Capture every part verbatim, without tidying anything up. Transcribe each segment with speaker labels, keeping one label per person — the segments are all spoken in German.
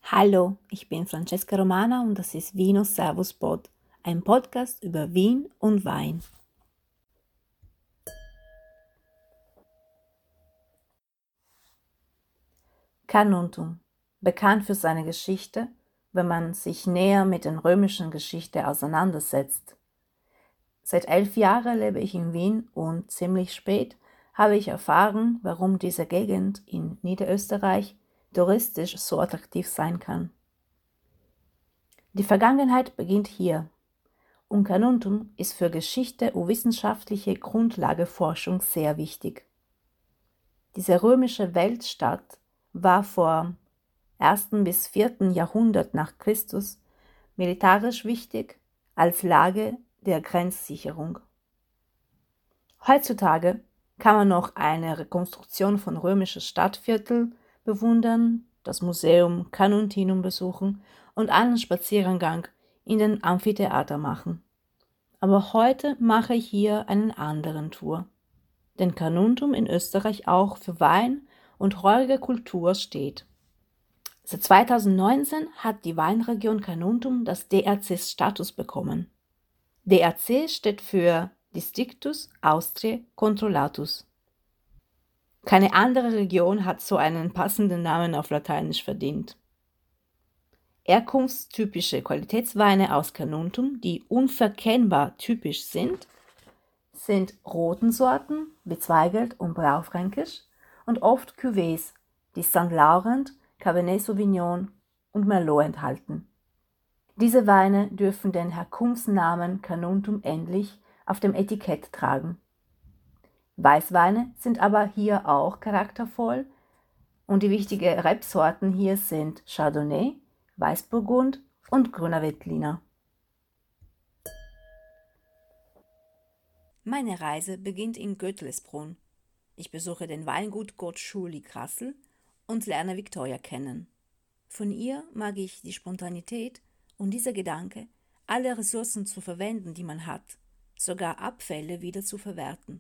Speaker 1: Hallo, ich bin Francesca Romana und das ist Vino Servus Pod, ein Podcast über Wien und Wein. Carnuntum, bekannt für seine Geschichte, wenn man sich näher mit der römischen Geschichte auseinandersetzt. Seit elf Jahren lebe ich in Wien und ziemlich spät habe ich erfahren, warum diese Gegend in Niederösterreich touristisch so attraktiv sein kann. Die Vergangenheit beginnt hier. Und Carnuntum ist für Geschichte und wissenschaftliche Grundlageforschung sehr wichtig. Diese römische Weltstadt war vor ersten bis vierten Jahrhundert nach Christus militärisch wichtig als Lage der Grenzsicherung. Heutzutage kann man noch eine Rekonstruktion von römischen Stadtvierteln bewundern, das Museum Carnuntinum besuchen und einen Spaziergang in den Amphitheater machen. Aber heute mache ich hier einen anderen Tour, denn Carnuntum in Österreich auch für Wein und heurige Kultur steht. Seit zweitausendneunzehn hat die Weinregion Carnuntum das D R C-Status bekommen. D R C steht für Districtus Austriae Controllatus. Keine andere Region hat so einen passenden Namen auf Lateinisch verdient. Herkunftstypische Qualitätsweine aus Carnuntum, die unverkennbar typisch sind, sind roten Sorten wie Zweigelt und Blaufränkisch und oft Cuvées, die Sankt Laurent, Cabernet Sauvignon und Merlot enthalten. Diese Weine dürfen den Herkunftsnamen Carnuntum ähnlich auf dem Etikett tragen. Weißweine sind aber hier auch charaktervoll und die wichtigen Rebsorten hier sind Chardonnay, Weißburgund und Grüner Veltliner. Meine Reise beginnt in Götlesbrunn. Ich besuche den Weingut Gott Schuli Grassl und lerne Victoria kennen. Von ihr mag ich die Spontanität und dieser Gedanke, alle Ressourcen zu verwenden, die man hat, sogar Abfälle wieder zu verwerten.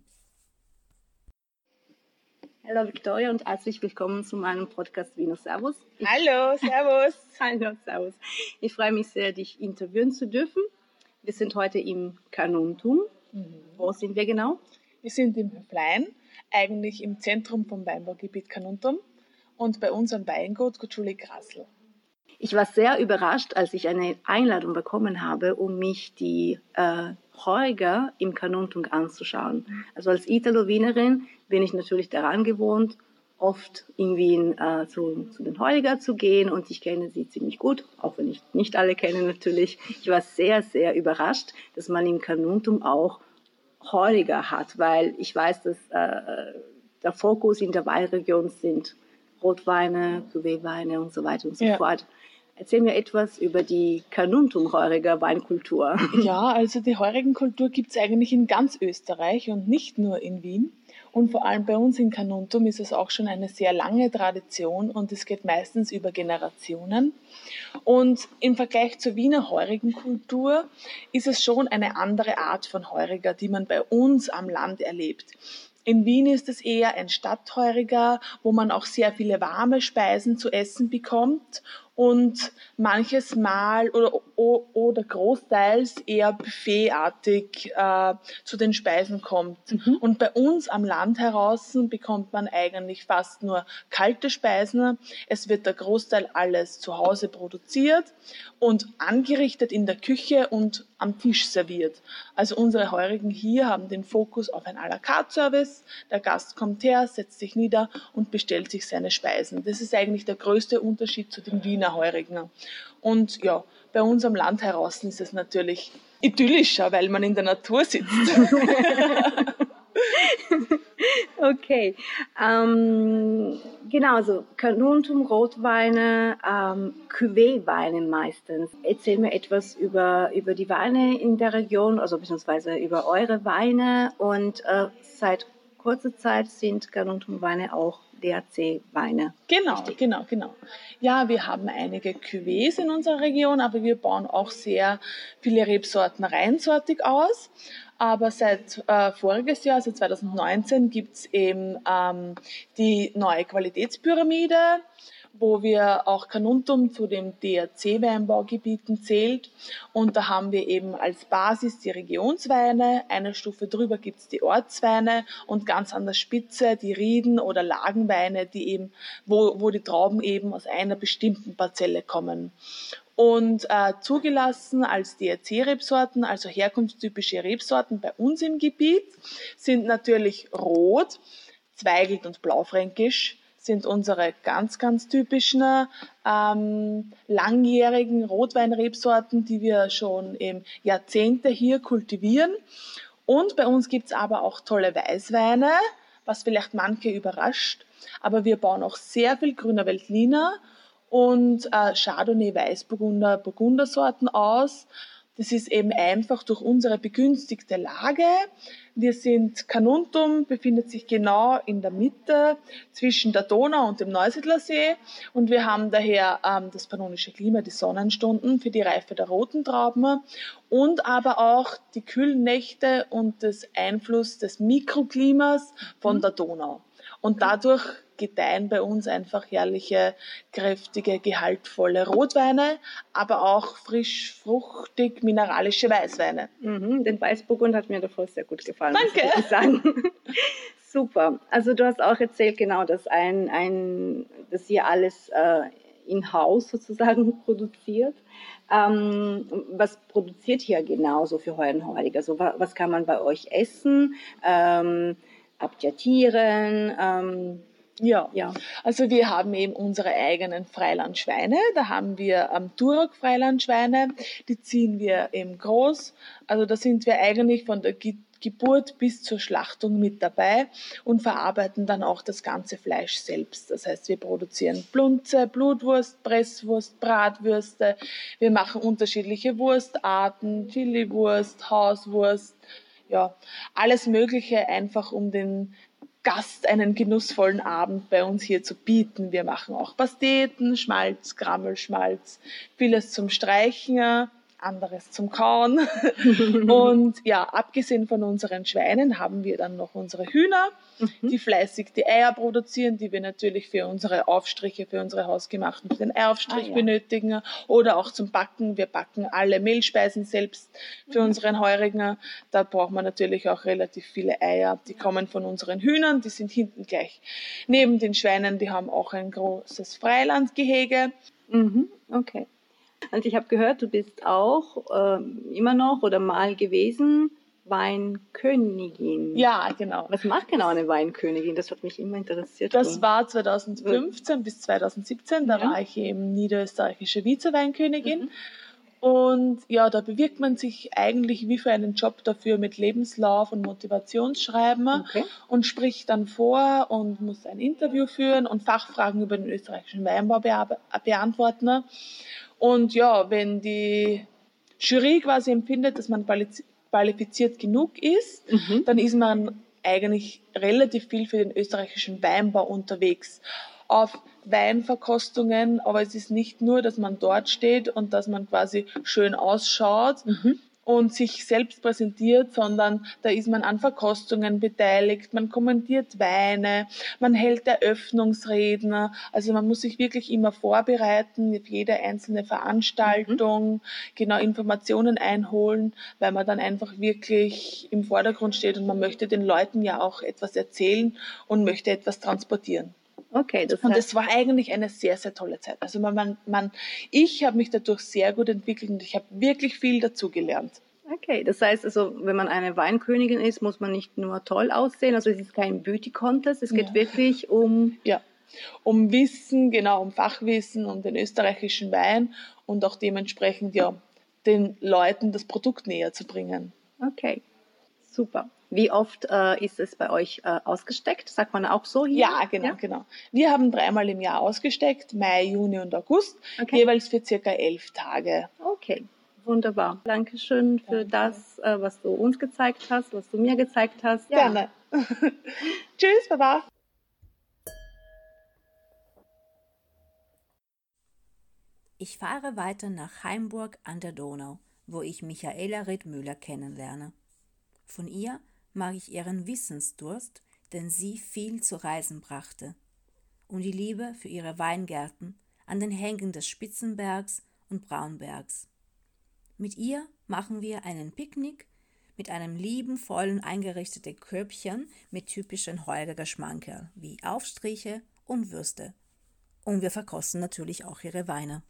Speaker 1: Hallo Victoria und herzlich willkommen zu meinem Podcast Vino Servus. Ich
Speaker 2: Hallo, servus.
Speaker 1: Hallo, servus. Ich freue mich sehr, dich interviewen zu dürfen. Wir sind heute im Carnuntum. Mhm. Wo sind wir genau?
Speaker 2: Wir sind im Höflein, eigentlich im Zentrum vom Weinbaugebiet Carnuntum und bei unserem Weingut Gott Schuli Grassl.
Speaker 1: Ich war sehr überrascht, als ich eine Einladung bekommen habe, um mich die äh, Heuriger im Carnuntum anzuschauen. Also als Italo-Wienerin bin ich natürlich daran gewohnt, oft in Wien äh, zu, zu den Heuriger zu gehen und ich kenne sie ziemlich gut, auch wenn ich nicht alle kenne natürlich. Ich war sehr, sehr überrascht, dass man im Carnuntum auch Heuriger hat, weil ich weiß, dass äh, der Fokus in der Weinregion sind Rotweine, Cuvée-Weine und so weiter und so ja. fort. Erzähl mir etwas über die Carnuntum-Heuriger Weinkultur.
Speaker 2: Ja, also die Heurigenkultur gibt es eigentlich in ganz Österreich und nicht nur in Wien. Und vor allem bei uns in Carnuntum ist es auch schon eine sehr lange Tradition und es geht meistens über Generationen. Und im Vergleich zur Wiener Heurigenkultur ist es schon eine andere Art von Heuriger, die man bei uns am Land erlebt. In Wien ist es eher ein Stadtheuriger, wo man auch sehr viele warme Speisen zu essen bekommt und manches Mal oder, oder großteils eher buffetartig äh, zu den Speisen kommt. Mhm. Und bei uns am Land heraus bekommt man eigentlich fast nur kalte Speisen. Es wird der Großteil alles zu Hause produziert und angerichtet in der Küche und am Tisch serviert. Also unsere Heurigen hier haben den Fokus auf ein à la carte Service. Der Gast kommt her, setzt sich nieder und bestellt sich seine Speisen. Das ist eigentlich der größte Unterschied zu den Wiener Heurigen. Und ja, bei uns am Land heraus ist es natürlich idyllischer, weil man in der Natur sitzt.
Speaker 1: Okay, ähm, genau, also Carnuntum, Rotweine, ähm, Cuvée-Weine meistens. Erzähl mir etwas über, über die Weine in der Region, also beziehungsweise über eure Weine und äh, seit kurzer Zeit sind Carnuntum-Weine auch D R C-Weine.
Speaker 2: Genau, richtig? genau, genau. Ja, wir haben einige Cuvées in unserer Region, aber wir bauen auch sehr viele Rebsorten reinsortig aus. Aber seit äh, voriges Jahr, also zwanzig neunzehn, gibt es eben ähm, die neue Qualitätspyramide wo wir auch Carnuntum zu den D R C-Weinbaugebieten zählt. Und da haben wir eben als Basis die Regionsweine, eine Stufe drüber gibt es die Ortsweine und ganz an der Spitze die Rieden- oder Lagenweine, die eben, wo, wo die Trauben eben aus einer bestimmten Parzelle kommen. Und äh, zugelassen als D R C-Rebsorten, also herkunftstypische Rebsorten bei uns im Gebiet, sind natürlich Rot, Zweigelt und Blaufränkisch, sind unsere ganz, ganz typischen ähm, langjährigen Rotweinrebsorten, die wir schon eben Jahrzehnte hier kultivieren. Und bei uns gibt's aber auch tolle Weißweine, was vielleicht manche überrascht. Aber wir bauen auch sehr viel Grüner Veltliner und äh, Chardonnay, Weißburgunder, Burgundersorten aus. Das ist eben einfach durch unsere begünstigte Lage. Wir sind, Carnuntum befindet sich genau in der Mitte zwischen der Donau und dem Neusiedlersee und wir haben daher ähm, das pannonische Klima, die Sonnenstunden für die Reife der roten Trauben und aber auch die kühlen Nächte und das Einfluss des Mikroklimas von der Donau. Und dadurch gedeihen bei uns einfach herrliche, kräftige, gehaltvolle Rotweine, aber auch frisch, fruchtig, mineralische Weißweine.
Speaker 1: Mhm, den Weißburgund hat mir davor sehr gut gefallen.
Speaker 2: Danke.
Speaker 1: Muss ich sagen. Super. Also du hast auch erzählt, genau, dass ein, ein, dass ihr alles äh, in-house sozusagen produziert. Ähm, was produziert ihr genauso für Heuenheulig? Also was, was kann man bei euch essen? Ähm, habt ihr Tieren? Ähm,
Speaker 2: Ja. ja, also wir haben eben unsere eigenen Freilandschweine. Da haben wir ähm, Duroc-Freilandschweine, die ziehen wir eben groß. Also da sind wir eigentlich von der Ge- Geburt bis zur Schlachtung mit dabei und verarbeiten dann auch das ganze Fleisch selbst. Das heißt, wir produzieren Plunze, Blutwurst, Presswurst, Bratwürste. Wir machen unterschiedliche Wurstarten, Chiliwurst, Hauswurst, ja, alles Mögliche einfach um den Gast einen genussvollen Abend bei uns hier zu bieten. Wir machen auch Pasteten, Schmalz, Grammelschmalz, vieles zum Streichen, anderes zum Kauen. Und ja, abgesehen von unseren Schweinen haben wir dann noch unsere Hühner, mhm. die fleißig die Eier produzieren, die wir natürlich für unsere Aufstriche, für unsere hausgemachten, für den Eiaufstrich ah, ja. benötigen oder auch zum Backen. Wir backen alle Mehlspeisen selbst für mhm. unseren Heurigen. Da braucht man natürlich auch relativ viele Eier. Die kommen von unseren Hühnern, die sind hinten gleich neben den Schweinen. Die haben auch ein großes Freilandgehege.
Speaker 1: Mhm. Okay. Und ich habe gehört, du bist auch ähm, immer noch oder mal gewesen Weinkönigin.
Speaker 2: Ja, genau.
Speaker 1: Was macht genau eine Weinkönigin? Das hat mich immer interessiert.
Speaker 2: Das war zweitausendfünfzehn mhm. bis zweitausendsiebzehn. Da ja. war ich eben niederösterreichische Vize-Weinkönigin. Mhm. Und ja, da bewirkt man sich eigentlich wie für einen Job dafür mit Lebenslauf und Motivationsschreiben okay. und spricht dann vor und muss ein Interview führen und Fachfragen über den österreichischen Weinbau be- beantworten. Und ja, wenn die Jury quasi empfindet, dass man qualifiziert genug ist, mhm. dann ist man eigentlich relativ viel für den österreichischen Weinbau unterwegs. Auf Weinverkostungen, aber es ist nicht nur, dass man dort steht und dass man quasi schön ausschaut mhm. und sich selbst präsentiert, sondern da ist man an Verkostungen beteiligt, man kommentiert Weine, man hält Eröffnungsreden, also man muss sich wirklich immer vorbereiten auf jede einzelne Veranstaltung, mhm. genau Informationen einholen, weil man dann einfach wirklich im Vordergrund steht und man möchte den Leuten ja auch etwas erzählen und möchte etwas transportieren.
Speaker 1: Okay, das
Speaker 2: und es war eigentlich eine sehr, sehr tolle Zeit. Also man, man, man ich habe mich dadurch sehr gut entwickelt und ich habe wirklich viel dazugelernt.
Speaker 1: Okay, das heißt also, wenn man eine Weinkönigin ist, muss man nicht nur toll aussehen, also es ist kein Beauty-Contest, es geht ja. wirklich um...
Speaker 2: Ja, um Wissen, genau, um Fachwissen, um den österreichischen Wein und auch dementsprechend ja den Leuten das Produkt näher zu bringen.
Speaker 1: Okay, super. Wie oft äh, ist es bei euch äh, ausgesteckt? Sagt man auch so hier?
Speaker 2: Ja, genau, ja? genau. Wir haben dreimal im Jahr ausgesteckt, Mai, Juni und August, okay. jeweils für circa elf Tage.
Speaker 1: Okay, wunderbar. Dankeschön für Danke. das, äh, was du uns gezeigt hast, was du mir gezeigt hast.
Speaker 2: Ja. Gerne. Tschüss, Baba.
Speaker 1: Ich fahre weiter nach Haimburg an der Donau, wo ich Michaela Riedmüller kennenlerne. Von ihr mag ich ihren Wissensdurst, den sie viel zu reisen brachte. und die Liebe für ihre Weingärten an den Hängen des Spitzenbergs und Braunbergs. Mit ihr machen wir einen Picknick mit einem liebenvollen eingerichteten Körbchen mit typischen Holger Geschmankerl wie Aufstriche und Würste. Und wir verkosten natürlich auch ihre Weine.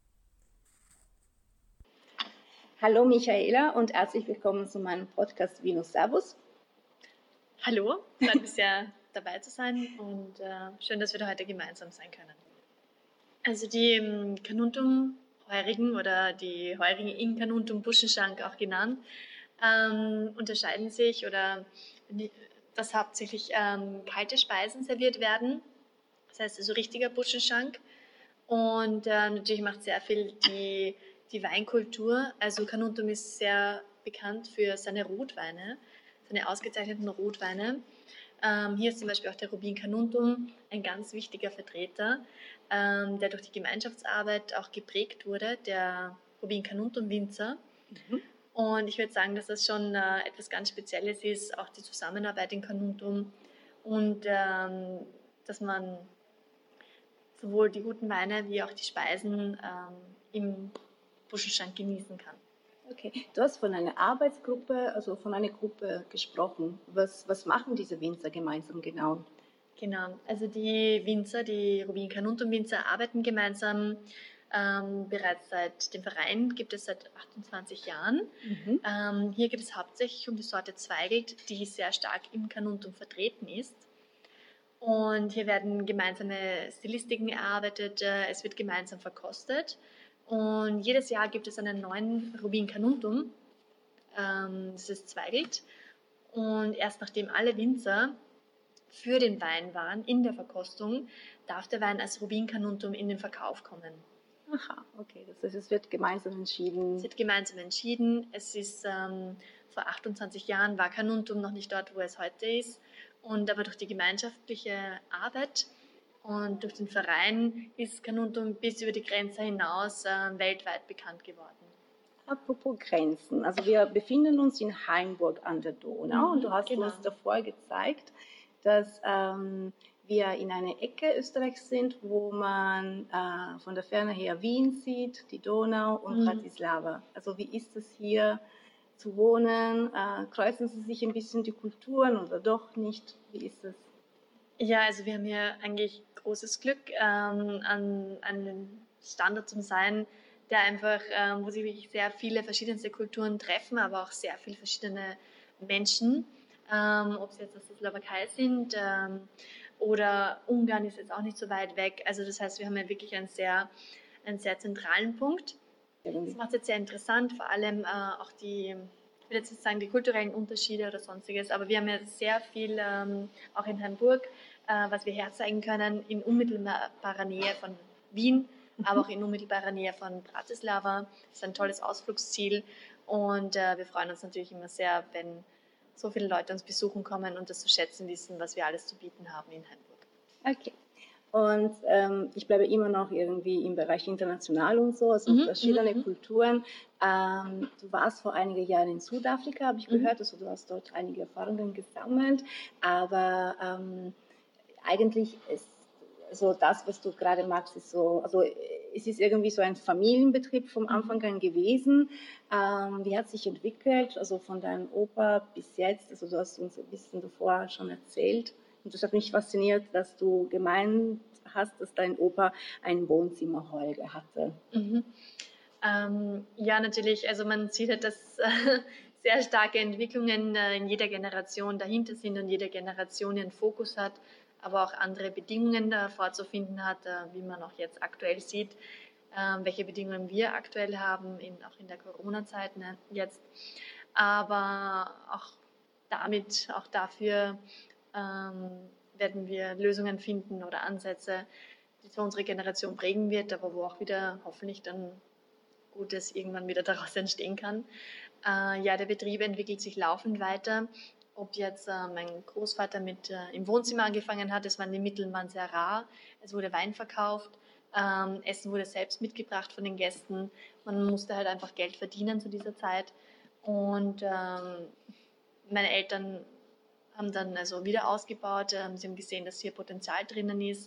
Speaker 3: Hallo Michaela und herzlich willkommen zu meinem Podcast Vinus Servus.
Speaker 4: Hallo, freut mich sehr dabei zu sein und äh, schön, dass wir da heute gemeinsam sein können. Also die ähm, Carnuntum-Heurigen oder die Heurigen in Carnuntum-Buschenschank auch genannt, ähm, unterscheiden sich oder dass hauptsächlich ähm, kalte Speisen serviert werden. Das heißt also richtiger Buschenschank und äh, natürlich macht sehr viel die, die Weinkultur. Also Carnuntum ist sehr bekannt für seine Rotweine, seine ausgezeichneten Rotweine. Ähm, hier ist zum Beispiel auch der Rubin Carnuntum ein ganz wichtiger Vertreter, ähm, der durch die Gemeinschaftsarbeit auch geprägt wurde, der Rubin Carnuntum Winzer. Mhm. Und ich würde sagen, dass das schon äh, etwas ganz Spezielles ist, auch die Zusammenarbeit in Carnuntum und ähm, dass man sowohl die guten Weine wie auch die Speisen ähm, im Buschenschank genießen kann.
Speaker 3: Okay, du hast von einer Arbeitsgruppe, also von einer Gruppe gesprochen. Was, was machen diese Winzer gemeinsam genau?
Speaker 4: Genau, also die Winzer, die Rubin Carnuntum Winzer arbeiten gemeinsam. Ähm, bereits seit dem Verein gibt es seit achtundzwanzig Jahren. Mhm. Ähm, hier geht es hauptsächlich um die Sorte Zweigelt, die sehr stark im Carnuntum vertreten ist. Und hier werden gemeinsame Stilistiken erarbeitet, äh, es wird gemeinsam verkostet. Und jedes Jahr gibt es einen neuen Rubin Carnuntum, ähm, das ist Zweigelt. Und erst nachdem alle Winzer für den Wein waren in der Verkostung, darf der Wein als Rubin Carnuntum in den Verkauf kommen.
Speaker 3: Aha, okay, das heißt, es wird gemeinsam entschieden.
Speaker 4: Es wird gemeinsam entschieden. Es ist ähm, vor achtundzwanzig Jahren war Carnuntum noch nicht dort, wo es heute ist. Und aber durch die gemeinschaftliche Arbeit und durch den Verein ist Carnuntum bis über die Grenze hinaus äh, weltweit bekannt geworden.
Speaker 3: Apropos Grenzen, also wir befinden uns in Hainburg an der Donau, mhm, und du hast
Speaker 4: genau.
Speaker 3: uns davor gezeigt, dass ähm, wir in einer Ecke Österreichs sind, wo man äh, von der Ferne her Wien sieht, die Donau und mhm. Bratislava. Also wie ist es hier zu wohnen? Äh, kreuzen Sie sich ein bisschen die Kulturen oder doch nicht? Wie ist es?
Speaker 4: Ja, also wir haben hier eigentlich großes Glück, ähm, an, an einem Standort zu sein, der einfach, ähm, wo sich wirklich sehr viele verschiedenste Kulturen treffen, aber auch sehr viele verschiedene Menschen. Ähm, ob sie jetzt aus der Slowakei sind ähm, oder Ungarn ist jetzt auch nicht so weit weg. Also das heißt, wir haben ja wirklich einen sehr, einen sehr zentralen Punkt. Das macht es jetzt sehr interessant, vor allem äh, auch die, ich will jetzt nicht sagen die kulturellen Unterschiede oder sonstiges, aber wir haben ja sehr viel ähm, auch in Hainburg, äh, was wir herzeigen können, in unmittelbarer Nähe von Wien, mhm. aber auch in unmittelbarer Nähe von Bratislava. Das ist ein tolles Ausflugsziel und äh, wir freuen uns natürlich immer sehr, wenn so viele Leute uns besuchen kommen und das zu schätzen wissen, was wir alles zu bieten haben in Hainburg.
Speaker 3: Okay. Und ähm, ich bleibe immer noch irgendwie im Bereich international und so, also mhm, verschiedene mhm. Kulturen. Ähm, du warst vor einigen Jahren in Südafrika, habe ich mhm. gehört, also du hast dort einige Erfahrungen gesammelt, aber ähm, eigentlich ist so das, was du gerade magst, ist so, also es ist irgendwie so ein Familienbetrieb vom Anfang an gewesen. Ähm, wie hat sich entwickelt, also von deinem Opa bis jetzt, also du hast uns ein bisschen davor schon erzählt. Und das hat mich fasziniert, dass du gemeint hast, dass dein Opa ein Wohnzimmerholger hatte.
Speaker 4: Mhm. Ähm, ja, natürlich. Also man sieht halt, dass äh, sehr starke Entwicklungen äh, in jeder Generation dahinter sind und jede Generation ihren Fokus hat, aber auch andere Bedingungen äh, vorzufinden hat, äh, wie man auch jetzt aktuell sieht, äh, welche Bedingungen wir aktuell haben, in, auch in der Corona-Zeit ne, jetzt. Aber auch damit, auch dafür ähm, werden wir Lösungen finden oder Ansätze, die zwar unsere Generation prägen wird, aber wo auch wieder hoffentlich dann Gutes irgendwann wieder daraus entstehen kann. Äh, ja, der Betrieb entwickelt sich laufend weiter. Ob jetzt äh, mein Großvater mit äh, im Wohnzimmer angefangen hat, es waren die Mittel waren sehr rar, es wurde Wein verkauft, ähm, Essen wurde selbst mitgebracht von den Gästen. Man musste halt einfach Geld verdienen zu dieser Zeit. Und ähm, meine Eltern haben dann also wieder ausgebaut. Ähm, sie haben gesehen, dass hier Potenzial drinnen ist.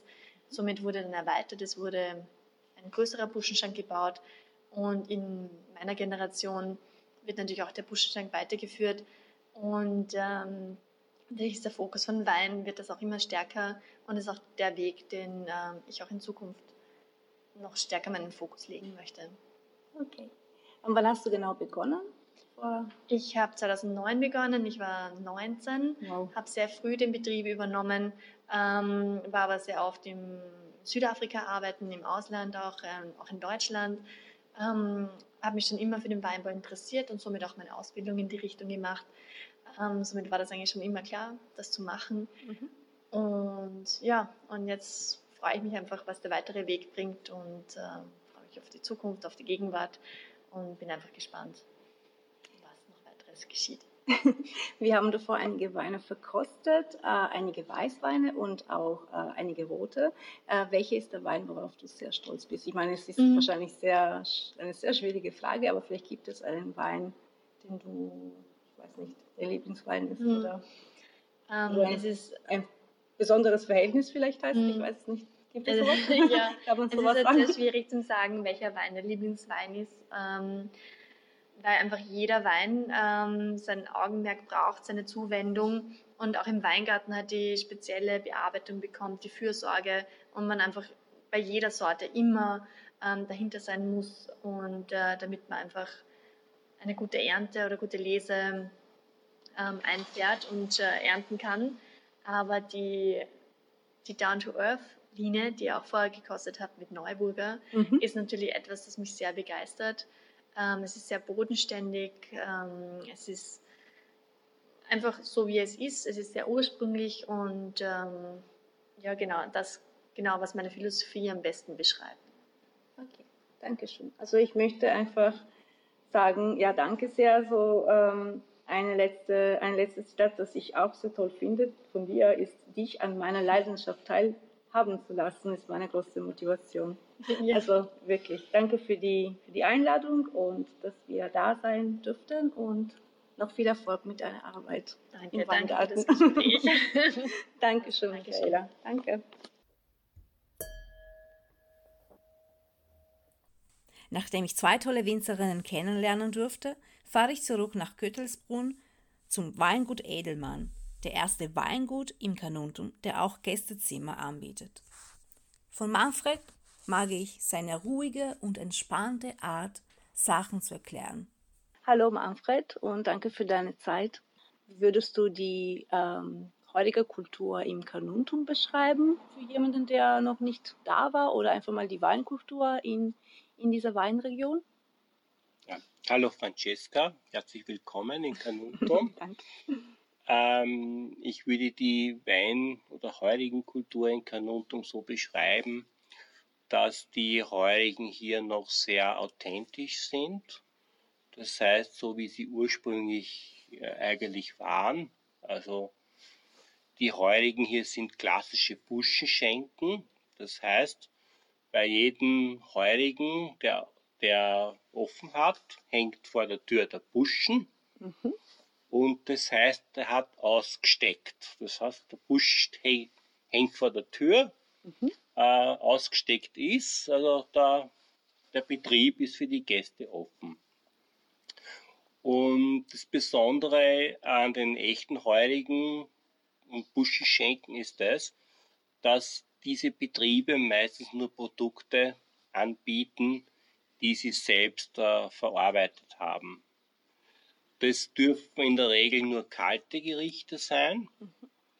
Speaker 4: Somit wurde dann erweitert, es wurde ein größerer Buschenschank gebaut und in meiner Generation wird natürlich auch der Buschenschank weitergeführt und ähm, natürlich ist der Fokus von Wein, wird das auch immer stärker und ist auch der Weg, den ähm, ich auch in Zukunft noch stärker meinen Fokus legen möchte.
Speaker 3: Okay. Und wann hast du genau begonnen? Vor
Speaker 4: Ich habe zweitausendneun begonnen, ich war neunzehn,
Speaker 3: Wow.
Speaker 4: habe sehr früh den Betrieb übernommen, ähm, war aber sehr oft im Südafrika arbeiten, im Ausland auch, ähm, auch in Deutschland. Ähm, habe mich schon immer für den Weinbau interessiert und somit auch meine Ausbildung in die Richtung gemacht. Ähm, somit war das eigentlich schon immer klar, das zu machen.
Speaker 3: Mhm.
Speaker 4: Und ja, und jetzt freue ich mich einfach, was der weitere Weg bringt und äh, freue mich auf die Zukunft, auf die Gegenwart und bin einfach gespannt, was noch weiteres geschieht.
Speaker 3: Wir haben davor einige Weine verkostet, äh, einige Weißweine und auch äh, einige rote. Äh, welcher ist der Wein, worauf du sehr stolz bist? Ich meine, es ist
Speaker 4: Mhm.
Speaker 3: wahrscheinlich sehr, eine sehr schwierige Frage, aber vielleicht gibt es einen Wein, den du, ich weiß nicht, der Lieblingswein ist
Speaker 4: Mhm.
Speaker 3: oder
Speaker 4: Ähm,
Speaker 3: so ein,
Speaker 4: es ist,
Speaker 3: ein besonderes Verhältnis vielleicht heißt, ich
Speaker 4: Mhm.
Speaker 3: weiß es nicht. Gibt es
Speaker 4: also,
Speaker 3: sowas?
Speaker 4: ja,
Speaker 3: Kann man
Speaker 4: es ist
Speaker 3: sowas
Speaker 4: jetzt
Speaker 3: sagen?
Speaker 4: sehr schwierig zu sagen, welcher Wein der Lieblingswein ist, ähm, weil einfach jeder Wein ähm, sein Augenmerk braucht, seine Zuwendung und auch im Weingarten hat die spezielle Bearbeitung bekommt, die Fürsorge und man einfach bei jeder Sorte immer ähm, dahinter sein muss und äh, damit man einfach eine gute Ernte oder gute Lese ähm, einfährt und äh, ernten kann. Aber die, die Down-to-Earth-Linie, die ihr auch vorher gekostet habt mit Neuburger,
Speaker 3: Mhm.
Speaker 4: ist natürlich etwas, das mich sehr begeistert. Ähm, es ist sehr bodenständig, ähm, es ist einfach so, wie es ist. Es ist sehr ursprünglich und ähm, ja, genau, das, genau, was meine Philosophie am besten beschreibt.
Speaker 3: Okay, danke schön. Also ich möchte einfach sagen, ja, danke sehr. So ähm, eine letzte, ein letztes Zitat, das ich auch sehr toll finde von dir, ist, dich an meiner Leidenschaft teilhaben zu lassen, ist meine größte Motivation.
Speaker 4: Ja.
Speaker 3: Also wirklich, danke für die, für die Einladung und dass wir da sein dürften und noch viel Erfolg mit deiner Arbeit
Speaker 4: Danke,
Speaker 3: im
Speaker 4: danke für
Speaker 3: Weingarten.
Speaker 4: das Gespräch.
Speaker 3: Dankeschön,
Speaker 4: Dankeschön.
Speaker 3: Michaela. Danke.
Speaker 1: Nachdem ich zwei tolle Winzerinnen kennenlernen durfte, fahre ich zurück nach Köttelsbrunn zum Weingut Edelmann, der erste Weingut im Carnuntum, der auch Gästezimmer anbietet. Von Manfred mag ich seine ruhige und entspannte Art, Sachen zu erklären.
Speaker 3: Hallo Manfred und danke für deine Zeit. Wie würdest du die ähm, heutige Kultur im Carnuntum beschreiben für jemanden, der noch nicht da war oder einfach mal die Weinkultur in, in dieser Weinregion?
Speaker 5: Ja. Hallo Francesca, herzlich willkommen in Carnuntum.
Speaker 3: Danke.
Speaker 5: ähm, ich würde die Wein- oder Heurigenkultur in Carnuntum so beschreiben, dass die Heurigen hier noch sehr authentisch sind. Das heißt, so wie sie ursprünglich äh, eigentlich waren. Also die Heurigen hier sind klassische Buschenschenken. Das heißt, bei jedem Heurigen, der, der offen hat, hängt vor der Tür der Buschen.
Speaker 3: Mhm.
Speaker 5: Und das heißt, er hat ausgesteckt. Das heißt, der Busch hängt vor der Tür,
Speaker 3: Mhm.
Speaker 5: äh, ausgesteckt ist. Also der, der Betrieb ist für die Gäste offen. Und das Besondere an den echten Heurigen und Buschenschenken ist das, dass diese Betriebe meistens nur Produkte anbieten, die sie selbst äh, verarbeitet haben. Das dürfen in der Regel nur kalte Gerichte sein. Mhm.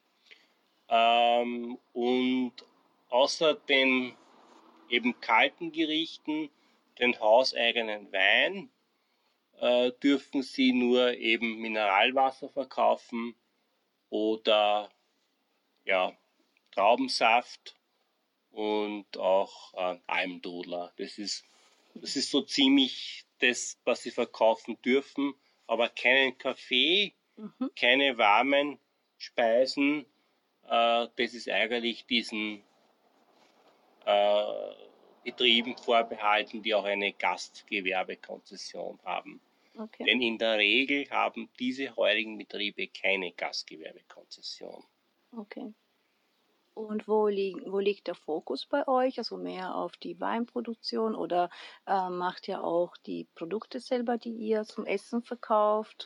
Speaker 5: Ähm, und außer den eben kalten Gerichten, den hauseigenen Wein, äh, dürfen sie nur eben Mineralwasser verkaufen oder ja, Traubensaft und auch äh, Almdudler. Das ist, das ist so ziemlich das, was sie verkaufen dürfen, aber keinen Kaffee, mhm. keine warmen Speisen. Äh, das ist eigentlich diesen äh, Betrieben vorbehalten, die auch eine Gastgewerbekonzession haben. Okay. Denn in der Regel haben diese heurigen Betriebe keine Gastgewerbekonzession.
Speaker 3: Okay. Und wo, lieg, wo liegt der Fokus bei euch? Also mehr auf die Weinproduktion oder äh, macht ihr auch die Produkte selber, die ihr zum Essen verkauft?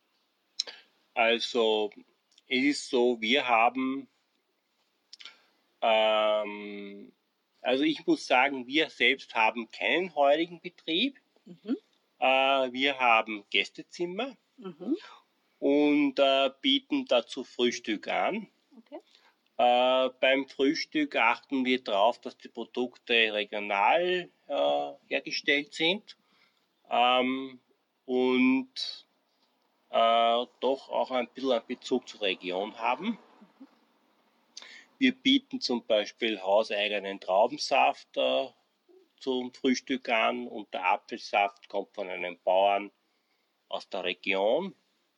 Speaker 5: Also es ist so, wir haben, ähm, also ich muss sagen, wir selbst haben keinen heurigen Betrieb.
Speaker 3: Mhm.
Speaker 5: Äh, wir haben Gästezimmer
Speaker 3: Mhm.
Speaker 5: und äh, bieten dazu Frühstück an.
Speaker 3: Okay.
Speaker 5: Äh, beim Frühstück achten wir darauf, dass die Produkte regional äh, hergestellt sind ähm, und äh, doch auch ein bisschen einen Bezug zur Region haben. Wir bieten zum Beispiel hauseigenen Traubensaft äh, zum Frühstück an und der Apfelsaft kommt von einem Bauern aus der Region.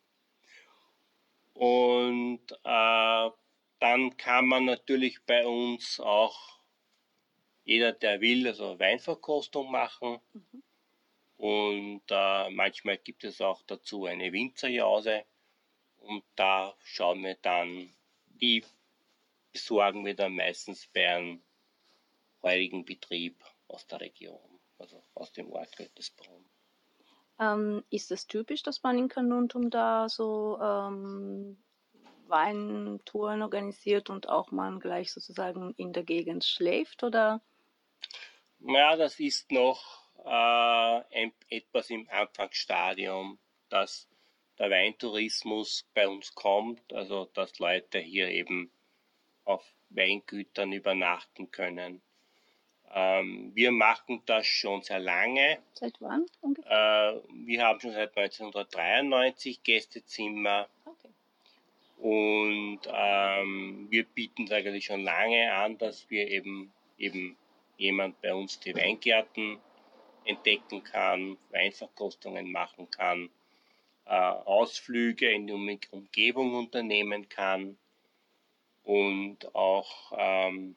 Speaker 5: Und äh, dann kann man natürlich bei uns auch, jeder der will, also Weinverkostung machen.
Speaker 3: Mhm.
Speaker 5: Und äh, manchmal gibt es auch dazu eine Winzerjause. Und da schauen wir dann, die besorgen wir dann meistens bei einem heurigen Betrieb aus der Region, also aus dem Ort Göttesbrunn.
Speaker 3: Ähm, ist es typisch, dass man in Carnuntum da so ähm, Weintouren organisiert und auch man gleich sozusagen in der Gegend schläft? Oder?
Speaker 5: Ja, das ist noch äh, ein, etwas im Anfangsstadium, dass der Weintourismus bei uns kommt, also dass Leute hier eben auf Weingütern übernachten können. Ähm, wir machen das schon sehr lange.
Speaker 3: Seit wann ungefähr?
Speaker 5: Äh, wir haben schon seit neunzehnhundertdreiundneunzig Gästezimmer.
Speaker 3: Okay.
Speaker 5: Und ähm, wir bieten es eigentlich schon lange an, dass wir eben, eben jemand bei uns die Weingärten entdecken kann, Weinverkostungen machen kann, äh, Ausflüge in die Umgebung unternehmen kann und auch ähm,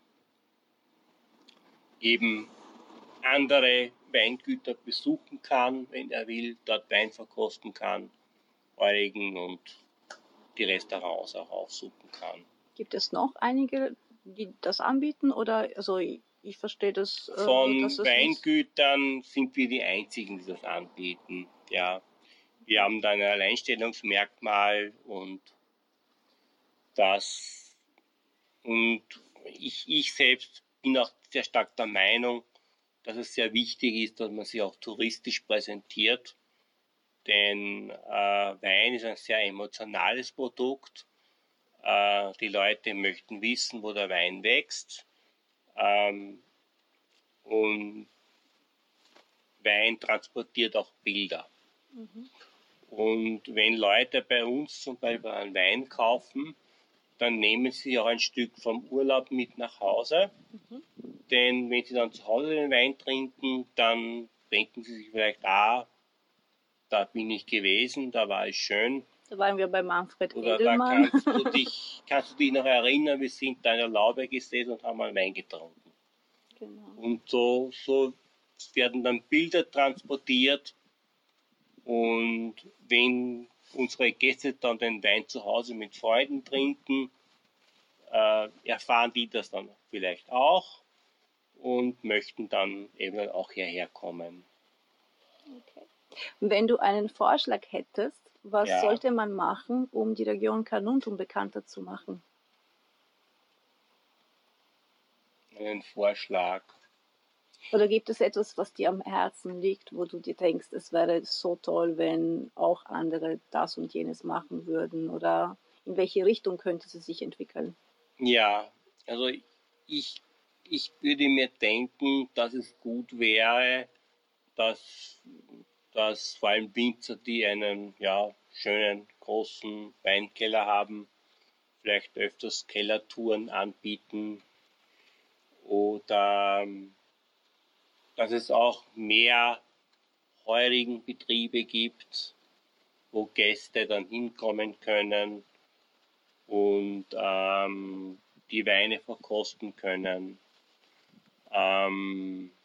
Speaker 5: eben andere Weingüter besuchen kann, wenn er will, dort Wein verkosten kann, heurigen und die Restaurants auch aufsuchen kann.
Speaker 3: Gibt es noch einige, die das anbieten? Oder also ich, ich verstehe das, äh,
Speaker 5: Von
Speaker 3: dass es
Speaker 5: Weingütern sind wir die einzigen, die das anbieten. Ja, wir haben da ein Alleinstellungsmerkmal und das und ich, ich selbst bin auch sehr stark der Meinung, dass es sehr wichtig ist, dass man sich auch touristisch präsentiert. Denn äh, Wein ist ein sehr emotionales Produkt. Äh, die Leute möchten wissen, wo der Wein wächst. Ähm, und Wein transportiert auch Bilder.
Speaker 3: Mhm.
Speaker 5: Und wenn Leute bei uns zum Beispiel einen Wein kaufen, dann nehmen sie auch ein Stück vom Urlaub mit nach Hause.
Speaker 3: Mhm.
Speaker 5: Denn wenn sie dann zu Hause den Wein trinken, dann denken sie sich vielleicht, ah, da bin ich gewesen, da war es schön.
Speaker 3: Da waren wir bei Manfred
Speaker 5: Oder da
Speaker 3: Edelmann.
Speaker 5: kannst du dich, kannst du dich noch erinnern, wir sind da in der Laube gesessen und haben mal Wein getrunken.
Speaker 3: Genau.
Speaker 5: Und so, so werden dann Bilder transportiert. Und wenn unsere Gäste dann den Wein zu Hause mit Freunden trinken, äh, erfahren die das dann vielleicht auch und möchten dann eben auch hierher kommen.
Speaker 3: Okay. Wenn du einen Vorschlag hättest, was
Speaker 5: Ja.
Speaker 3: sollte man machen, um die Region Carnuntum bekannter zu machen?
Speaker 5: Einen Vorschlag.
Speaker 3: Oder gibt es etwas, was dir am Herzen liegt, wo du dir denkst, es wäre so toll, wenn auch andere das und jenes machen würden? Oder in welche Richtung könnte es sich entwickeln?
Speaker 5: Ja, also ich, ich würde mir denken, dass es gut wäre, dass, dass vor allem Winzer, die einen ja, schönen großen Weinkeller haben, vielleicht öfters Kellertouren anbieten oder ähm, dass es auch mehr heurigen Betriebe gibt, wo Gäste dann hinkommen können und ähm, die Weine verkosten können. Ähm,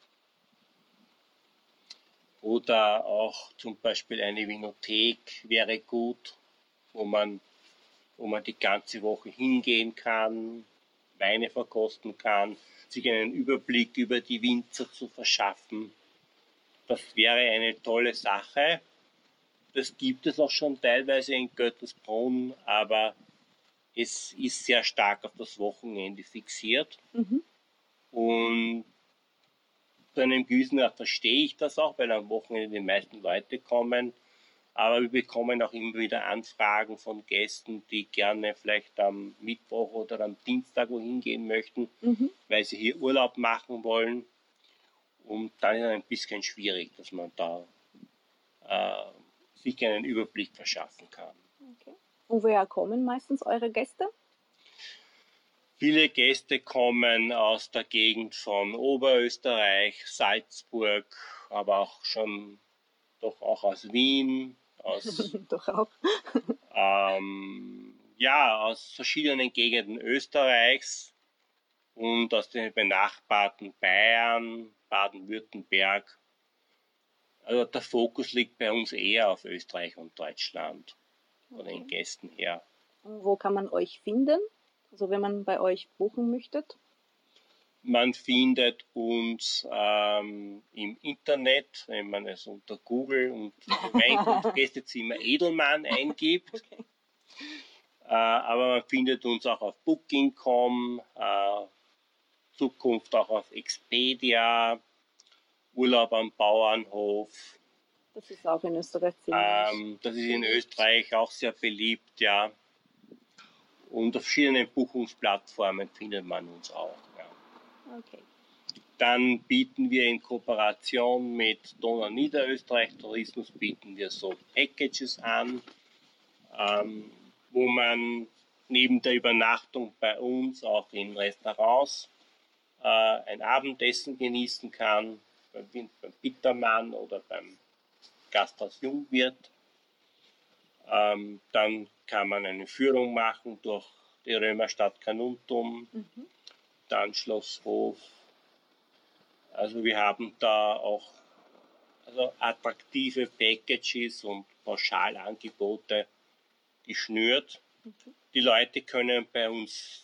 Speaker 5: oder auch zum Beispiel eine Vinothek wäre gut, wo man, wo man die ganze Woche hingehen kann, Weine verkosten kann, sich einen Überblick über die Winzer zu verschaffen. Das wäre eine tolle Sache. Das gibt es auch schon teilweise in Göttelsbrunn, aber es ist sehr stark auf das Wochenende fixiert.
Speaker 3: Mhm.
Speaker 5: Und zu einem gewissen Grad verstehe ich das auch, weil am Wochenende die meisten Leute kommen. Aber wir bekommen auch immer wieder Anfragen von Gästen, die gerne vielleicht am Mittwoch oder am Dienstag wohin gehen möchten,
Speaker 3: Mhm.
Speaker 5: weil sie hier Urlaub machen wollen. Und dann ist es ein bisschen schwierig, dass man da äh, sich einen Überblick verschaffen kann.
Speaker 3: Okay. Und woher kommen meistens eure Gäste?
Speaker 5: Viele Gäste kommen aus der Gegend von Oberösterreich, Salzburg, aber auch schon doch auch aus Wien, aus,
Speaker 3: Doch auch.
Speaker 5: ähm, ja, aus verschiedenen Gegenden Österreichs und aus den benachbarten Bayern, Baden-Württemberg. Also der Fokus liegt bei uns eher auf Österreich und Deutschland von den Gästen her.
Speaker 3: Und wo kann man euch finden? Also wenn man bei euch buchen möchte?
Speaker 5: Man findet uns ähm, im Internet, wenn man es unter Google und Weingut Gästezimmer Edelmann eingibt.
Speaker 3: Okay.
Speaker 5: Äh, aber man findet uns auch auf Booking punkt com, äh, Zukunft auch auf Expedia, Urlaub am Bauernhof.
Speaker 3: Das ist auch in Österreich ziemlich.
Speaker 5: Ähm, das ist in Österreich auch sehr beliebt, ja. Und auf verschiedenen Buchungsplattformen findet man uns auch. Ja.
Speaker 3: Okay.
Speaker 5: Dann bieten wir in Kooperation mit Donau Niederösterreich Tourismus bieten wir so Packages an, ähm, wo man neben der Übernachtung bei uns auch in Restaurants äh, ein Abendessen genießen kann, beim, beim Bittermann oder beim Gasthaus Jungwirt. Ähm, dann kann man eine Führung machen durch die Römerstadt Carnuntum,
Speaker 3: Mhm.
Speaker 5: dann Schloss Hof. Also wir haben da auch also attraktive Packages und Pauschalangebote geschnürt.
Speaker 3: Mhm.
Speaker 5: Die Leute können bei uns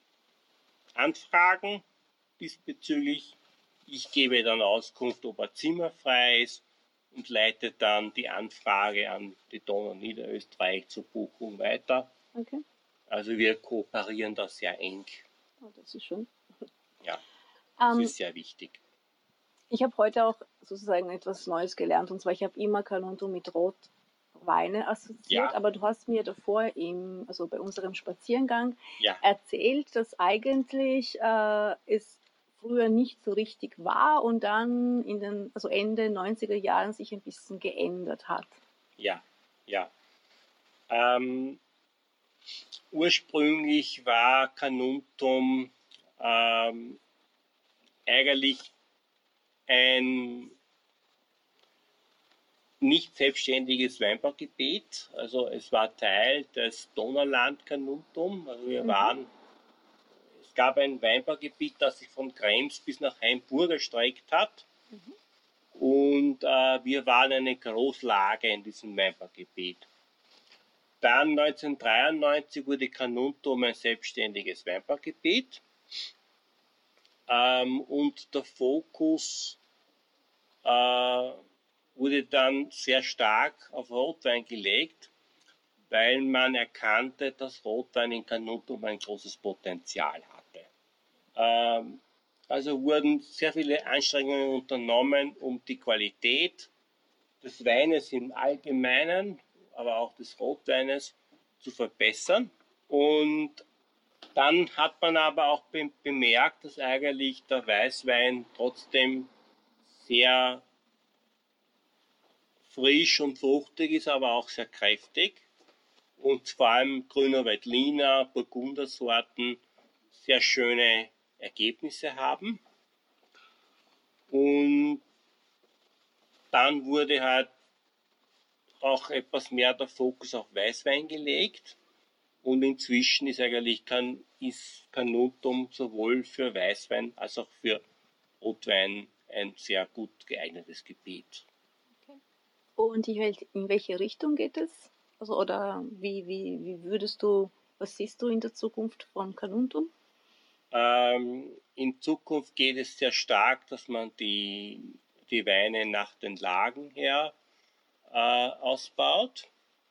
Speaker 5: anfragen diesbezüglich. Ich gebe dann Auskunft, ob ein Zimmer frei ist und leite dann die Anfrage an die Donau Niederösterreich zur Buchung weiter.
Speaker 3: Okay.
Speaker 5: Also wir kooperieren da sehr eng.
Speaker 3: Oh, das ist schön.
Speaker 5: Ja, das
Speaker 3: Ähm,
Speaker 5: ist sehr wichtig.
Speaker 3: Ich habe heute auch sozusagen etwas Neues gelernt, und zwar ich habe immer Carnuntum mit Rotweine assoziiert,
Speaker 5: Ja.
Speaker 3: aber du hast mir davor im, also bei unserem Spaziergang
Speaker 5: Ja,
Speaker 3: erzählt, dass eigentlich äh, es früher nicht so richtig war und dann in den, also Ende neunziger Jahren sich ein bisschen geändert hat.
Speaker 5: ja, ja. Ähm, ursprünglich war Carnuntum ähm, eigentlich ein nicht selbstständiges Weinbaugebiet. Also es war Teil des Donauland Carnuntum. Also wir
Speaker 3: Mhm.
Speaker 5: waren, es gab ein Weinbaugebiet, das sich von Krems bis nach Hainburg erstreckt hat.
Speaker 3: Mhm.
Speaker 5: Und äh, wir waren eine Großlage in diesem Weinbaugebiet. Dann neunzehnhundertdreiundneunzig wurde Carnuntum ein selbstständiges Weinbaugebiet. Ähm, und der Fokus äh, wurde dann sehr stark auf Rotwein gelegt, weil man erkannte, dass Rotwein in Carnuntum ein großes Potenzial hatte. Ähm, also wurden sehr viele Anstrengungen unternommen, um die Qualität des Weines im Allgemeinen, aber auch des Rotweines zu verbessern. Und dann hat man aber auch be- bemerkt, dass eigentlich der Weißwein trotzdem sehr frisch und fruchtig ist, aber auch sehr kräftig. Und vor allem Grüner Veltliner, Burgundersorten sehr schöne Ergebnisse haben. Und dann wurde halt auch etwas mehr der Fokus auf Weißwein gelegt. Und inzwischen ist eigentlich kann, ist Carnuntum sowohl für Weißwein als auch für Rotwein ein sehr gut geeignetes Gebiet.
Speaker 3: Und in wel- in welche Richtung geht es? Also, oder wie, wie, wie würdest du, was siehst du in der Zukunft von Carnuntum?
Speaker 5: Ähm, in Zukunft geht es sehr stark, dass man die, die Weine nach den Lagen her äh, ausbaut.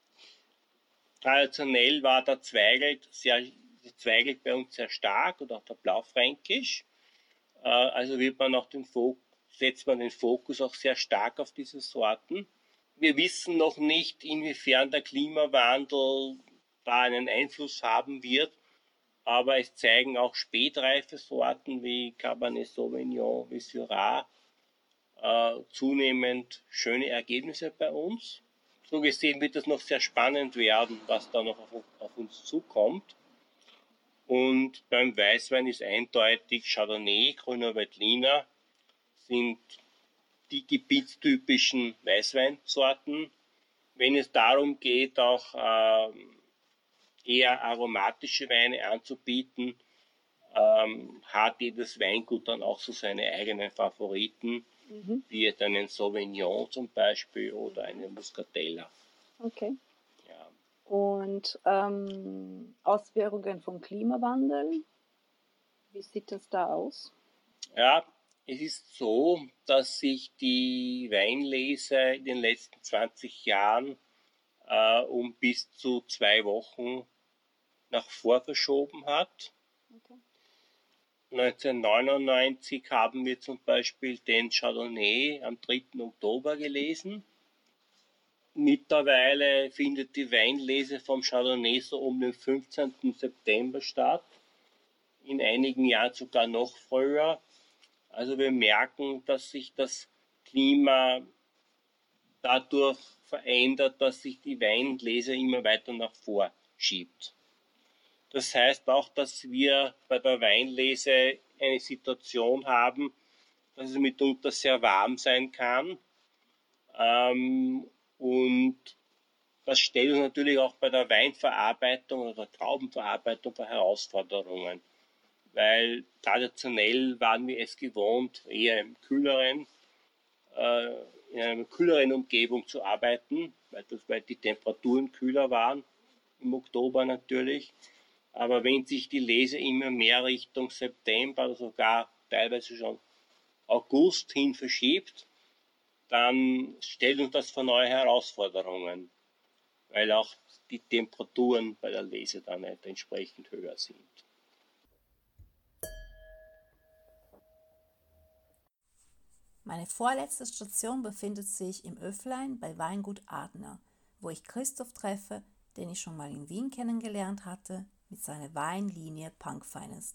Speaker 5: Traditionell war der Zweigelt, sehr, der Zweigelt bei uns sehr stark oder auch der Blaufränkisch. Äh, also wird man auch den Fokus, setzt man den Fokus auch sehr stark auf diese Sorten. Wir wissen noch nicht, inwiefern der Klimawandel da einen Einfluss haben wird, aber es zeigen auch spätreife Sorten wie Cabernet Sauvignon, wie Syrah äh, zunehmend schöne Ergebnisse bei uns. So gesehen wird es noch sehr spannend werden, was da noch auf, auf uns zukommt. Und beim Weißwein ist eindeutig Chardonnay, Grüner Veltliner sind die gebietstypischen Weißweinsorten. Wenn es darum geht, auch ähm, eher aromatische Weine anzubieten, ähm, hat jedes Weingut dann auch so seine eigenen Favoriten, mhm. wie jetzt einen Sauvignon zum Beispiel oder einen Muscatella.
Speaker 3: Okay. Ja. Und ähm, Auswirkungen vom Klimawandel, wie sieht das da aus?
Speaker 5: Ja, es ist so, dass sich die Weinlese in den letzten zwanzig Jahren äh, um bis zu zwei Wochen nach vor verschoben hat. Okay. neunzehnhundertneunundneunzig haben wir zum Beispiel den Chardonnay am dritten Oktober gelesen. Mittlerweile findet die Weinlese vom Chardonnay so um den fünfzehnten September statt. In einigen Jahren sogar noch früher. Also wir merken, dass sich das Klima dadurch verändert, dass sich die Weinlese immer weiter nach vor schiebt. Das heißt auch, dass wir bei der Weinlese eine Situation haben, dass es mitunter sehr warm sein kann. Ähm, und das stellt uns natürlich auch bei der Weinverarbeitung oder der Traubenverarbeitung vor Herausforderungen. Weil traditionell waren wir es gewohnt, eher im kühleren, äh, in einer kühleren Umgebung zu arbeiten, weil, das, weil die Temperaturen kühler waren, im Oktober natürlich. Aber wenn sich die Lese immer mehr Richtung September oder sogar teilweise schon August hin verschiebt, dann stellt uns das vor neue Herausforderungen, weil auch die Temperaturen bei der Lese dann nicht entsprechend höher sind.
Speaker 1: Meine vorletzte Station befindet sich im Öfflein bei Weingut Adner, wo ich Christoph treffe, den ich schon mal in Wien kennengelernt hatte, mit seiner Weinlinie Punk Finest.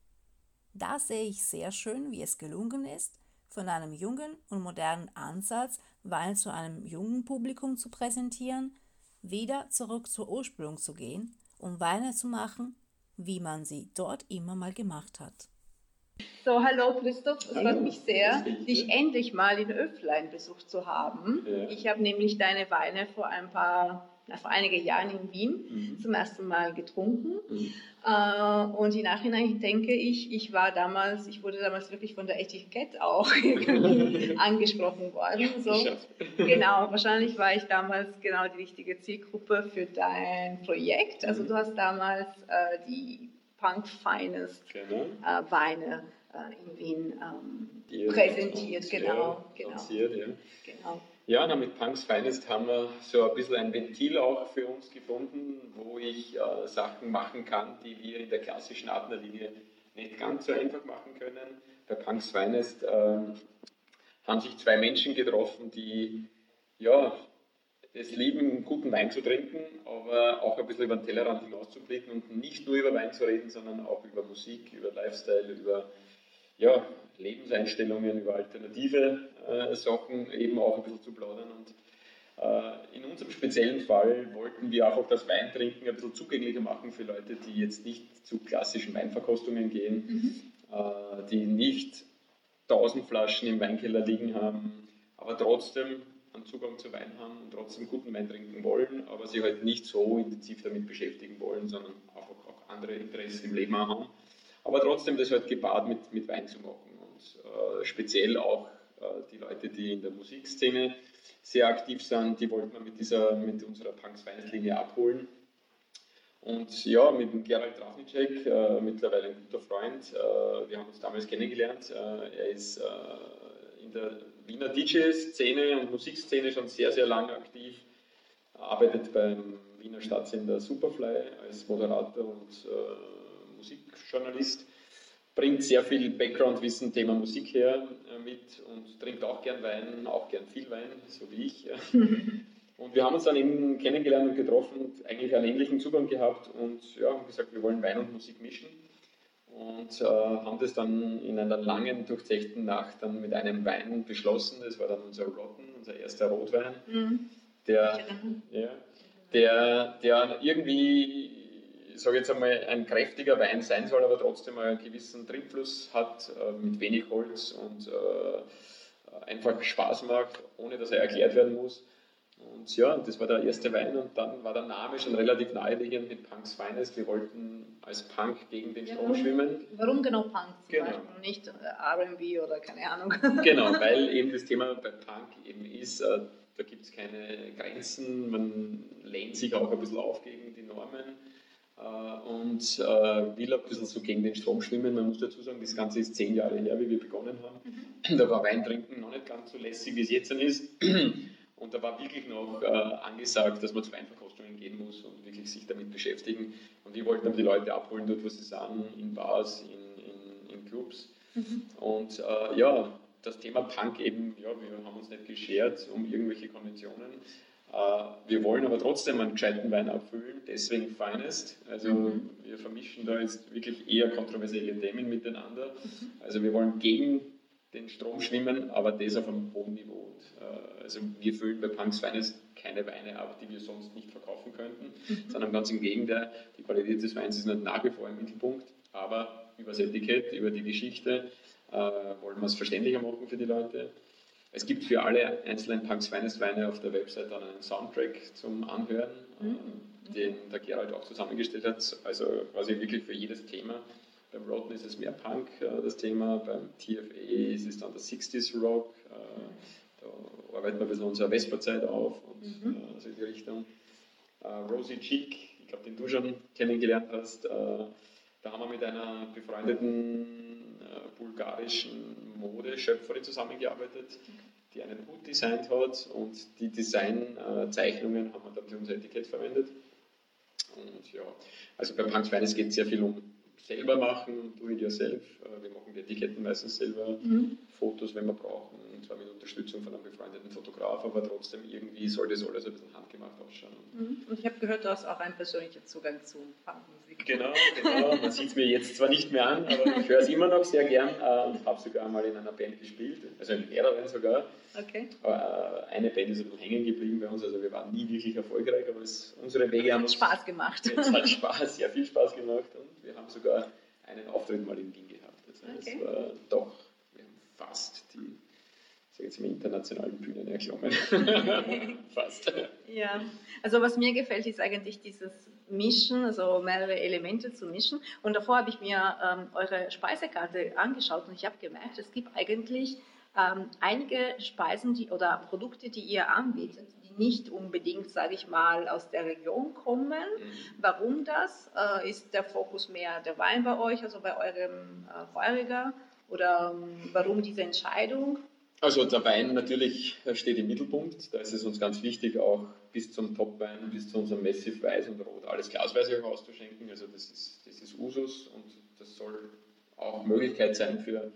Speaker 1: Da sehe ich sehr schön, wie es gelungen ist, von einem jungen und modernen Ansatz Wein zu einem jungen Publikum zu präsentieren, wieder zurück zur Ursprung zu gehen, um Weine zu machen, wie man sie dort immer mal gemacht hat.
Speaker 6: So, hallo Christoph, es freut mich sehr, dich endlich mal in Öfflein besucht zu haben. Ja. Ich habe nämlich deine Weine vor ein paar, na, vor einigen Jahren in Wien mhm. zum ersten Mal getrunken. Mhm. Äh, und im Nachhinein denke ich, ich war damals, ich wurde damals wirklich von der Etikett auch angesprochen worden. So. Genau, wahrscheinlich war ich damals genau die richtige Zielgruppe für dein Projekt. Also du hast damals äh, die Punk Finest genau. äh, Weine äh, in Wien ähm, präsentiert, genau. genau.
Speaker 7: Lanciert, ja.
Speaker 6: genau.
Speaker 7: Ja, na, mit Punks Finest haben wir so ein bisschen ein Ventil auch für uns gefunden, wo ich äh, Sachen machen kann, die wir in der klassischen Adner-Linie nicht ganz so einfach machen können. Bei Punks Finest äh, haben sich zwei Menschen getroffen, die ja, es lieben, guten Wein zu trinken, aber auch ein bisschen über den Tellerrand hinauszublicken und nicht nur über Wein zu reden, sondern auch über Musik, über Lifestyle, über ja, Lebenseinstellungen, über alternative äh, Sachen eben auch ein bisschen zu plaudern. Und äh, in unserem speziellen Fall wollten wir auch das Weintrinken ein bisschen zugänglicher machen für Leute, die jetzt nicht zu klassischen Weinverkostungen gehen, mhm. äh, die nicht tausend Flaschen im Weinkeller liegen haben, aber trotzdem einen Zugang zu Wein haben und trotzdem guten Wein trinken wollen, aber sich halt nicht so intensiv damit beschäftigen wollen, sondern einfach auch andere Interessen im Leben haben. Aber trotzdem das halt gepaart mit, mit Wein zu machen. Und äh, speziell auch äh, die Leute, die in der Musikszene sehr aktiv sind, die wollten wir mit, dieser, mit unserer Punks Finest Linie abholen. Und ja, mit dem Gerald Trafnicek, äh, mittlerweile ein guter Freund, äh, wir haben uns damals kennengelernt. Äh, er ist äh, in der Wiener D J-Szene und Musikszene schon sehr, sehr lange aktiv, arbeitet beim Wiener Stadtsender Superfly als Moderator und äh, Musikjournalist, bringt sehr viel Background-Wissen, Thema Musik her äh, mit und trinkt auch gern Wein, auch gern viel Wein, so wie ich. Und wir haben uns dann eben kennengelernt und getroffen und eigentlich einen ähnlichen Zugang gehabt und ja, haben gesagt, wir wollen Wein und Musik mischen und äh, haben das dann in einer langen, durchzechten Nacht dann mit einem Wein beschlossen. Das war dann unser Rotten, unser erster Rotwein, mhm. der, ja, der, der irgendwie, ich sage jetzt einmal, ein kräftiger Wein sein soll, aber trotzdem einen gewissen Trinkfluss hat, äh, mit wenig Holz und äh, einfach Spaß macht, ohne dass er erklärt werden muss. Und ja, das war der erste Wein und dann war der Name schon relativ naheliegend mit Punk's Finest. Wir wollten als Punk gegen den Strom
Speaker 6: ja,
Speaker 7: schwimmen.
Speaker 6: Warum genau Punk zum
Speaker 7: genau.
Speaker 6: Beispiel und nicht R und B oder keine Ahnung?
Speaker 7: Genau, weil eben das Thema bei Punk eben ist, äh, da gibt es keine Grenzen, man lehnt sich auch ein bisschen auf gegen die Normen äh, und äh, will ein bisschen so gegen den Strom schwimmen. Man muss dazu sagen, das Ganze ist zehn Jahre her, wie wir begonnen haben. Mhm. Da war Weintrinken noch nicht ganz so lässig, wie es jetzt ist. Und da war wirklich noch äh, angesagt, dass man zu Weinverkostungen gehen muss und wirklich sich damit beschäftigen. Und wir wollten aber die Leute abholen, dort wo sie sind, in Bars, in, in, in Clubs. Mhm. Und äh, ja, das Thema Punk eben, ja, wir haben uns nicht geschert um irgendwelche Konventionen. Äh, wir wollen aber trotzdem einen gescheiten Wein abfüllen, deswegen Finest. Also mhm. wir vermischen da jetzt wirklich eher kontroversielle Themen miteinander. Mhm. Also wir wollen gegen den Strom schwimmen, aber das auf einem hohen Niveau. Und, äh, also wir füllen bei Punk's Finest keine Weine ab, die wir sonst nicht verkaufen könnten, mhm. sondern ganz im Gegenteil, die Qualität des Weins ist nicht nach wie vor im Mittelpunkt, aber über das Etikett, über die Geschichte äh, wollen wir es verständlicher machen für die Leute. Es gibt für alle einzelnen Punk's Finest Weine auf der Website dann einen Soundtrack zum Anhören, mhm. äh, den der Gerald auch zusammengestellt hat, also quasi wirklich für jedes Thema. Beim Rotten ist es mehr Punk, äh, das Thema, beim T F A ist es dann der sechziger Rock, äh, da arbeiten wir ein bisschen unsere Vespa-Zeit auf und mhm. äh, so in die Richtung. Äh, Rosie Cheek, ich glaube, den du schon kennengelernt hast, äh, da haben wir mit einer befreundeten äh, bulgarischen Modeschöpferin zusammengearbeitet, die einen Hut designt hat und die Designzeichnungen haben wir dann für unser Etikett verwendet. Und ja, also bei Punk's Finest geht es sehr viel um selber machen, do it yourself. Wir machen die Etiketten meistens selber, mhm. Fotos, wenn wir brauchen, und zwar mit Unterstützung von einem befreundeten Fotograf, aber trotzdem irgendwie soll das alles ein bisschen handgemacht ausschauen.
Speaker 6: Mhm. Und ich habe gehört, du hast auch einen persönlichen Zugang zu Punkmusik.
Speaker 7: Genau, genau. Man sieht es mir jetzt zwar nicht mehr an, aber ich höre es immer noch sehr gern und habe sogar mal in einer Band gespielt, also in mehreren sogar.
Speaker 6: Okay.
Speaker 7: Aber eine Band ist ein bisschen hängen geblieben bei uns, also wir waren nie wirklich erfolgreich, aber es, unsere Wege haben
Speaker 6: uns... Es hat Spaß gemacht.
Speaker 7: Es hat Spaß, sehr viel Spaß gemacht und wir haben sogar einen Auftritt mal in Wien gehabt. Also okay. Es war doch, wir haben fast die, sag jetzt mal, internationalen Bühnen erklommen. Fast.
Speaker 6: Ja, also was mir gefällt, ist eigentlich dieses Mischen, also mehrere Elemente zu mischen. Und davor habe ich mir ähm, eure Speisekarte angeschaut und ich habe gemerkt, es gibt eigentlich ähm, einige Speisen die, oder Produkte, die ihr anbietet, die nicht unbedingt, sage ich mal, aus der Region kommen. Mhm. Warum das? Äh, ist der Fokus mehr der Wein bei euch, also bei eurem äh, Feuriger? Oder ähm, warum diese Entscheidung?
Speaker 7: Also der Wein natürlich steht im Mittelpunkt. Da ist es uns ganz wichtig, auch bis zum Topwein, bis zu unserem Massive Weiß und Rot alles glasweise auch auszuschenken. Also das ist, das ist Usus und das soll auch Möglichkeit sein für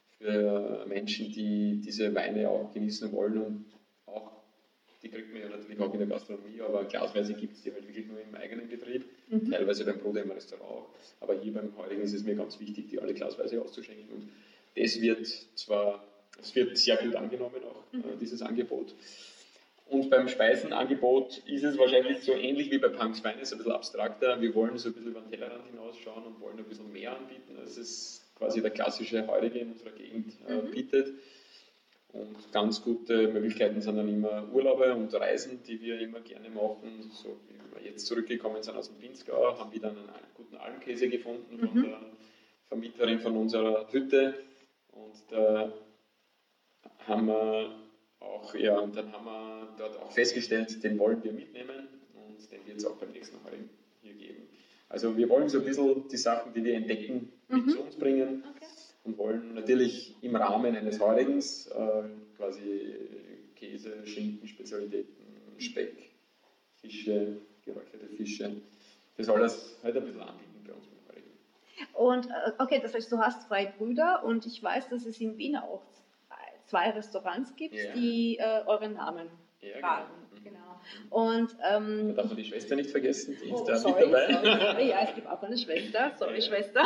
Speaker 7: für Menschen, die diese Weine auch genießen wollen und auch, die kriegt man ja natürlich auch in der Gastronomie, aber glasweise gibt es die halt wirklich nur im eigenen Betrieb, mhm. teilweise beim Bruder im Restaurant, aber hier beim Heurigen ist es mir ganz wichtig, die alle glasweise auszuschenken und das wird zwar, es wird sehr gut angenommen auch, mhm. äh, dieses Angebot. Und beim Speisenangebot ist es wahrscheinlich so ähnlich wie bei Punk's Finest, ein bisschen abstrakter. Wir wollen so ein bisschen über den Tellerrand hinausschauen und wollen ein bisschen mehr anbieten, als es quasi der klassische Heurige in unserer Gegend äh, mhm. bietet. Und ganz gute Möglichkeiten sind dann immer Urlaube und Reisen, die wir immer gerne machen. So wie wir jetzt zurückgekommen sind aus dem Pinzgau, haben wir dann einen guten Almkäse gefunden mhm. von der Vermieterin von unserer Hütte. Und da haben wir auch, ja, und dann haben wir dort auch festgestellt, den wollen wir mitnehmen und den wird es auch beim nächsten Heurigen hier geben. Also wir wollen so ein bisschen die Sachen, die wir entdecken, mit
Speaker 6: Mhm.
Speaker 7: zu uns bringen
Speaker 6: Okay.
Speaker 7: und wollen natürlich im Rahmen eines Heurigens äh, quasi Käse, Schinken, Spezialitäten, Speck, Fische, geräucherte Fische, das alles halt ein bisschen anbieten bei uns beim Heurigen.
Speaker 6: Und äh, okay, das heißt, du hast zwei Brüder und ich weiß, dass es in Wien auch zwei Restaurants gibt,
Speaker 7: Ja.
Speaker 6: die äh, euren Namen
Speaker 7: Ja,
Speaker 6: tragen.
Speaker 7: genau.
Speaker 6: Genau. Und ähm,
Speaker 7: Da darf man die Schwester nicht vergessen, die ist
Speaker 6: oh,
Speaker 7: da
Speaker 6: sorry,
Speaker 7: mit dabei.
Speaker 6: sorry, sorry, ja, es gibt auch eine Schwester. Sorry,
Speaker 7: Ja.
Speaker 6: Schwester.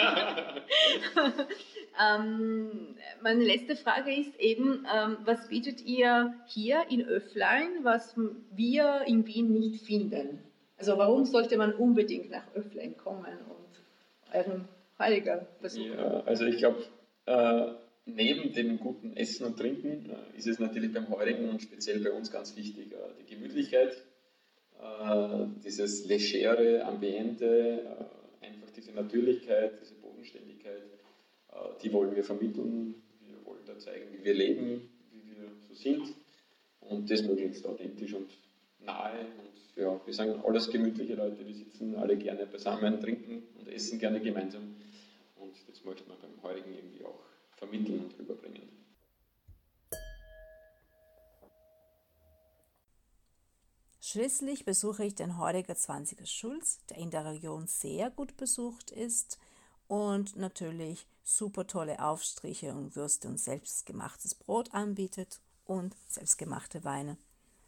Speaker 6: ähm, meine letzte Frage ist eben, ähm, was bietet ihr hier in Öfflein, was wir in Wien nicht finden? Also warum sollte man unbedingt nach Öfflein kommen und euren Heiliger besuchen?
Speaker 7: Ja, also ich glaube, äh, neben dem guten Essen und Trinken äh, ist es natürlich beim Heurigen und speziell bei uns ganz wichtig, äh, die Gemütlichkeit, äh, dieses legere Ambiente, äh, einfach diese Natürlichkeit, diese Bodenständigkeit, äh, die wollen wir vermitteln. Wir wollen da zeigen, wie wir leben, wie wir so sind und das möglichst authentisch und nahe. Und ja, wir sind alles gemütliche Leute, wir sitzen alle gerne beisammen, trinken und essen gerne gemeinsam. Und das möchte man beim Heurigen irgendwie auch vermitteln und rüberbringen.
Speaker 1: Schließlich besuche ich den Heuriger zwanziger Schulz, der in der Region sehr gut besucht ist und natürlich super tolle Aufstriche und Würste und selbstgemachtes Brot anbietet und selbstgemachte Weine.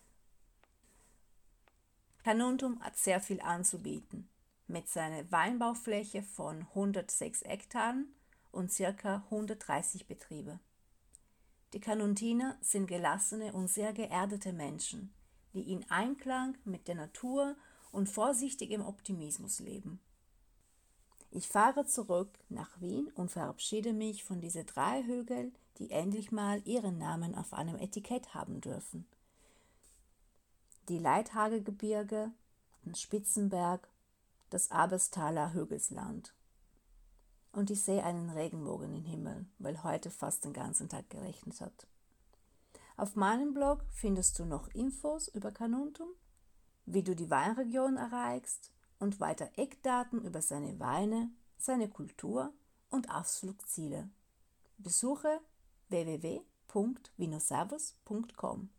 Speaker 1: Carnuntum hat sehr viel anzubieten. Mit seiner Weinbaufläche von hundertsechs Hektaren und ca. hundertdreißig Betriebe. Die Carnuntiner sind gelassene und sehr geerdete Menschen, die in Einklang mit der Natur und vorsichtigem Optimismus leben. Ich fahre zurück nach Wien und verabschiede mich von diesen drei Hügeln, die endlich mal ihren Namen auf einem Etikett haben dürfen. Die Leithagelgebirge, den Spitzenberg, das Aberstaler Hügelsland. Und ich sehe einen Regenbogen im Himmel, weil heute fast den ganzen Tag geregnet hat. Auf meinem Blog findest du noch Infos über Carnuntum, wie du die Weinregion erreichst und weiter Eckdaten über seine Weine, seine Kultur und Ausflugsziele. Besuche w w w punkt vinoservus punkt com.